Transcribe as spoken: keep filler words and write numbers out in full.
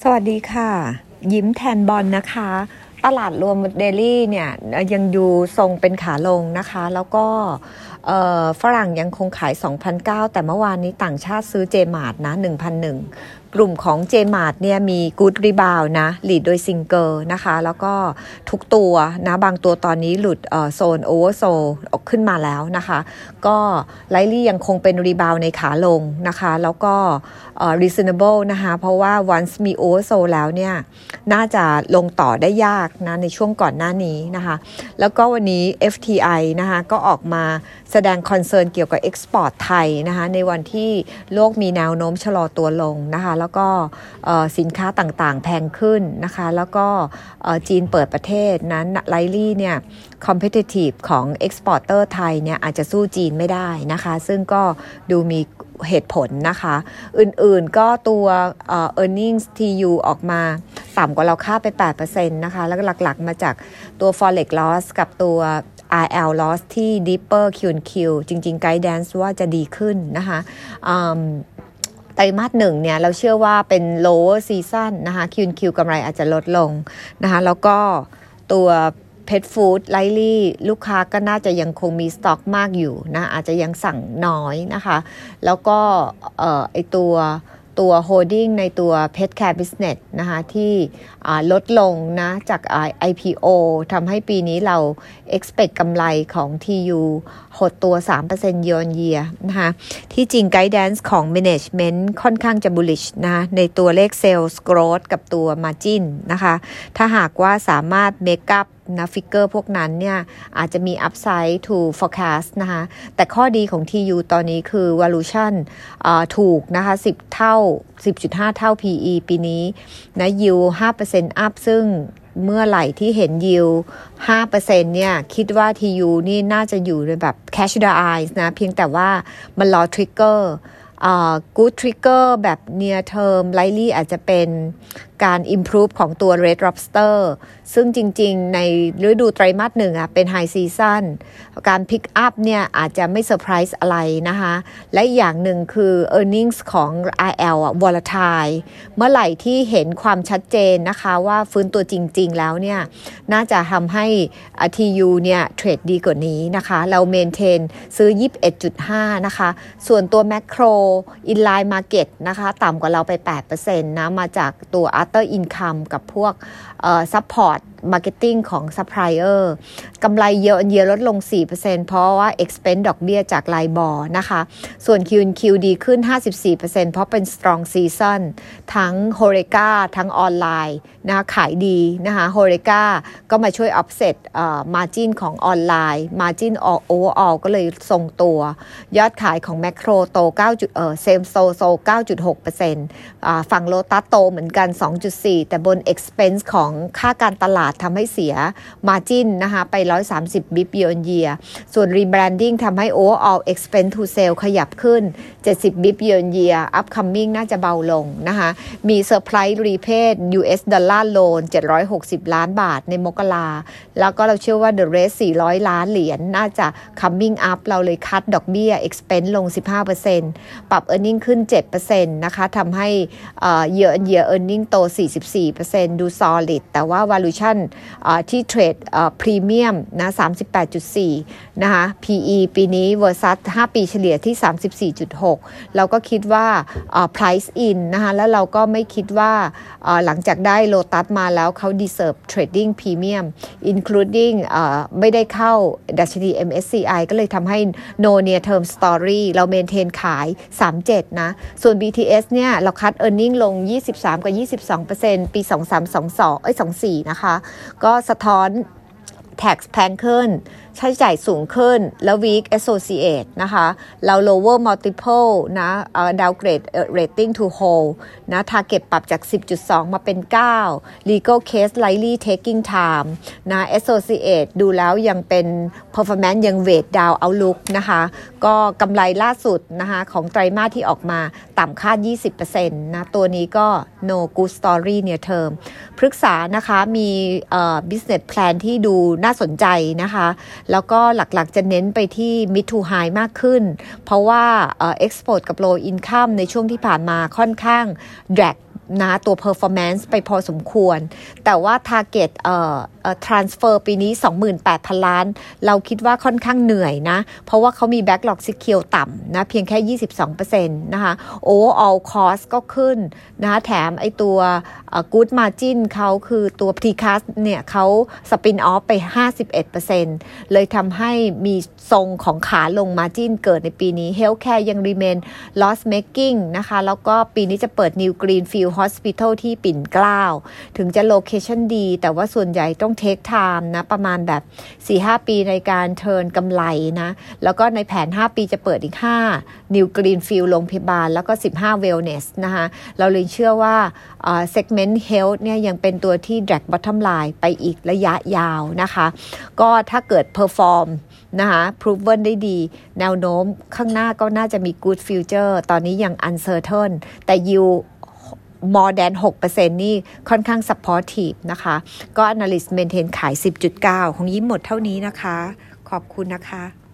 สวัสดีค่ะยิ้มแทนบอลนะคะตลาดรวมเดลี่เนี่ยยังอยู่ทรงเป็นขาลงนะคะแล้วก็ฝรั่งยังคงขาย สองพันเก้าร้อย แต่เมื่อวานนี้ต่างชาติซื้อเจมาร์ทนะ หนึ่งพันหนึ่ง กลุ่มของเจมาร์ทเนี่ยมีกู๊ดรีบาวนะลีดโดยซิงเกอร์นะคะแล้วก็ทุกตัวนะบางตัวตอนนี้หลุดโซนโอเวอร์โซออกขึ้นมาแล้วนะคะก็ไลลี่ยังคงเป็นรีบาวในขาลงนะคะแล้วก็ reasonable นะคะเพราะว่า once มี oversold แล้วเนี่ยน่าจะลงต่อได้ยากนะในช่วงก่อนหน้านี้นะคะแล้วก็วันนี้ เอฟ ที ไอ นะคะก็ออกมาแสดงคอนเซิร์นเกี่ยวกับ export ไทยนะคะในวันที่โลกมีแนวโน้มชะลอตัวลงนะคะแล้วก็สินค้าต่างๆแพงขึ้นนะคะแล้วก็จีนเปิดประเทศนั้นไลลี่เนี่ย competitive ของ exporter ไทยเนี่ยอาจจะสู้จีนไม่ได้นะคะซึ่งก็ดูมีเหตุผลนะคะอื่นๆก็ตัว earnings ที ยู ออกมาต่ำกว่าเราคาดไป แปดเปอร์เซ็นต์ นะคะแล้วหลักๆมาจากตัว forex loss กับตัว อาร์ แอล loss ที่ deeper คิว แอนด์ คิว จริงๆ guidance ว่าจะดีขึ้นนะคะไตรมาสหนึ่งเนี่ยเราเชื่อว่าเป็น lower season นะคะ คิว แอนด์ คิว กำไรอาจจะลดลงนะคะแล้วก็ตัวPet Food ไลลี่ลูกค้าก็น่าจะยังคงมีสต็อกมากอยู่นะอาจจะยังสั่งน้อยนะคะแล้วก็เอ่อไอตัวตัว holding ในตัว Pet Care Business นะคะที่ลดลงนะจาก ไอ พี โอ ทำให้ปีนี้เรา expect กำไรของ ที ยู หดตัว สามเปอร์เซ็นต์ year on year นะคะที่จริง guidance ของ management ค่อนข้างจะ bullish นะในตัวเลข sales growth กับตัว margin นะคะถ้าหากว่าสามารถ make upนะฟิกเกอร์พวกนั้นเนี่ยอาจจะมี upside to forecast นะคะแต่ข้อดีของ ที ยู ตอนนี้คือ valuation ถูกนะคะสิบเท่า สิบจุดห้า เท่า พี อี ปีนี้นะ yield ห้าเปอร์เซ็นต์ up ซึ่งเมื่อไหร่ที่เห็น yield ห้าเปอร์เซ็นต์ เนี่ยคิดว่า ที ยู นี่น่าจะอยู่ในแบบ cash the eyes นะเพียงแต่ว่ามันรอ trigger Uh, good trigger แบบ near term likely อาจจะเป็นการ improve ของตัว Red Lobster ซึ่งจริงๆในฤดูไตรมาสหนึ่งอ่ะเป็น high season การ pick up เนี่ยอาจจะไม่ surprise อะไรนะคะและอย่างหนึ่งคือ earnings ของ อาร์ แอล อ่ะ volatile เมื่อไหร่ที่เห็นความชัดเจนนะคะว่าฟื้นตัวจริงๆแล้วเนี่ยน่าจะทำให้ ที ยู เนี่ยเทรดดีกว่านี้นะคะเรา maintain ซื้อ ยี่สิบเอ็ดจุดห้า นะคะส่วนตัว macro inline market นะคะต่ำกว่าเราไป แปดเปอร์เซ็นต์ นะมาจากตัว other income กับพวกเอ่อ support marketing ของ supplier กำไรเยอะเยอะลดลง สี่เปอร์เซ็นต์ เพราะว่า expense ดอกเบี้ยจาก LIBOR นะคะส่วน คิว แอนด์ คิว ดีขึ้น ห้าสิบสี่เปอร์เซ็นต์ เพราะเป็น strong season ทั้ง Horeca ทั้งออนไลน์นะคะขายดีนะคะ Horeca ก็มาช่วย offset เอ่อ margin ของออนไลน์ margin overall ก็เลยทรงตัวยอดขายของ Macro โตเก้าเอ่อ Same Store โต เก้าจุดหกเปอร์เซ็นต์ อ่าฝั่ง Lotus โตเหมือนกัน สองจุดสี่ แต่บน expense ของค่าการตลาดทำให้เสีย margin นะคะไปหนึ่งร้อยสามสิบ บิป year on year ส่วน rebranding ทำให้ overall expense to sale ขยับขึ้นเจ็ดสิบ บิป year on year upcoming น่าจะเบาลงนะคะมี surprise repay ยู เอส dollar loan เจ็ดร้อยหกสิบล้านบาทในมกราแล้วก็เราเชื่อว่า the rest สี่ร้อยล้านเหรียญน่าจะ coming up เราเลยคัดดอกเบี้ย expense ลง สิบห้าเปอร์เซ็นต์ ปรับ earning ขึ้น เจ็ดเปอร์เซ็นต์ นะคะทำให้ year on year earning โต สี่สิบสี่เปอร์เซ็นต์ ดู solid แต่ว่า valuation ที่เทรดพรีเมียมนะ สามสิบแปดจุดสี่ นะคะ พี อี ปีนี้ versus ห้าปีเฉลี่ยที่ สามสิบสี่จุดหก เราก็คิดว่า price in นะคะแล้วเราก็ไม่คิดว่าหลังจากได้ Lotus มาแล้วเขา deserve trading premium including ไม่ได้เข้าดัชนี เอ็ม เอส ซี ไอ ก็เลยทำให้ no near term story เรา maintain ขาย สามสิบเจ็ด นะส่วน บี ที เอส เนี่ยเราคัด earning ลง ยี่สิบสาม กับ ยี่สิบสองเปอร์เซ็นต์ ปี สองพันสามร้อยยี่สิบสอง เอ้ย ยี่สิบสี่ นะคะก็สะท้อน tax แพงขึ้นใช้จ่ายสูงขึ้นแล้ว weak associate นะคะเรา lower multiple นะ downgrade rating to hold นะ target ปรับจาก สิบจุดสอง มาเป็น เก้า legal case likely taking time นะ associate ดูแล้วยังเป็น performance ยัง weight down outlook นะคะก็กำไรล่าสุดนะคะของไตรมาสที่ออกมาต่ำคาด ยี่สิบเปอร์เซ็นต์ นะตัวนี้ก็ no good story near term พฤกษานะคะมี business plan ที่ดูน่าสนใจนะคะแล้วก็หลักๆจะเน้นไปที่ mid to high มากขึ้นเพราะว่า export กับ low income ในช่วงที่ผ่านมาค่อนข้าง drag นะตัว performance ไปพอสมควรแต่ว่า target เอ่อเอ่อ transfer ปีนี้ สองหมื่นแปดพัน ล้านเราคิดว่าค่อนข้างเหนื่อยนะเพราะว่าเขามี backlog secure ต่ำนะเพียงแค่ ยี่สิบสองเปอร์เซ็นต์ นะคะ overall cost ก็ขึ้นนะแถมไอตัวเอ่อ good margin เขาคือตัว precast เนี่ยเขา spin off ไป ห้าสิบเอ็ดเปอร์เซ็นต์ เลยทำให้มีทรงของขาลง margin เกิดในปีนี้ healthcare ยัง remain loss making นะคะแล้วก็ปีนี้จะเปิด new greenfield hospital ที่ปิ่นเกล้าถึงจะ location ดีแต่ว่าส่วนใหญ่ต้อง take time นะประมาณแบบ สี่ห้า ปีในการ turn กำไรนะแล้วก็ในแผน ห้า ปีจะเปิดอีก ห้า new greenfield โรงพยาบาลแล้วก็ สิบห้า wellness นะคะเราเลยเชื่อว่า uh, segment health เนี่ยยังเป็นตัวที่ drag bottom line ไปอีกระยะยาวนะคะก็ถ้าเกิด perform นะคะ proven ได้ดีแนวโน้มข้างหน้าก็น่าจะมี good future ตอนนี้ยัง uncertain แต่ yield more than หกเปอร์เซ็นต์ นี่ค่อนข้าง supportive นะคะก็ analyst maintain ขาย สิบจุดเก้า ของยิ้มหมดเท่านี้นะคะขอบคุณนะคะ